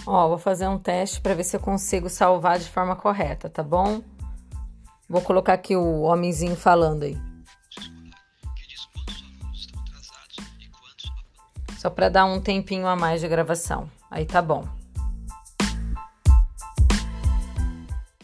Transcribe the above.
Ó, vou fazer um teste para ver se eu consigo salvar de forma correta, tá bom? Vou colocar aqui o homenzinho falando aí. Só para dar um tempinho a mais de gravação. Aí tá bom.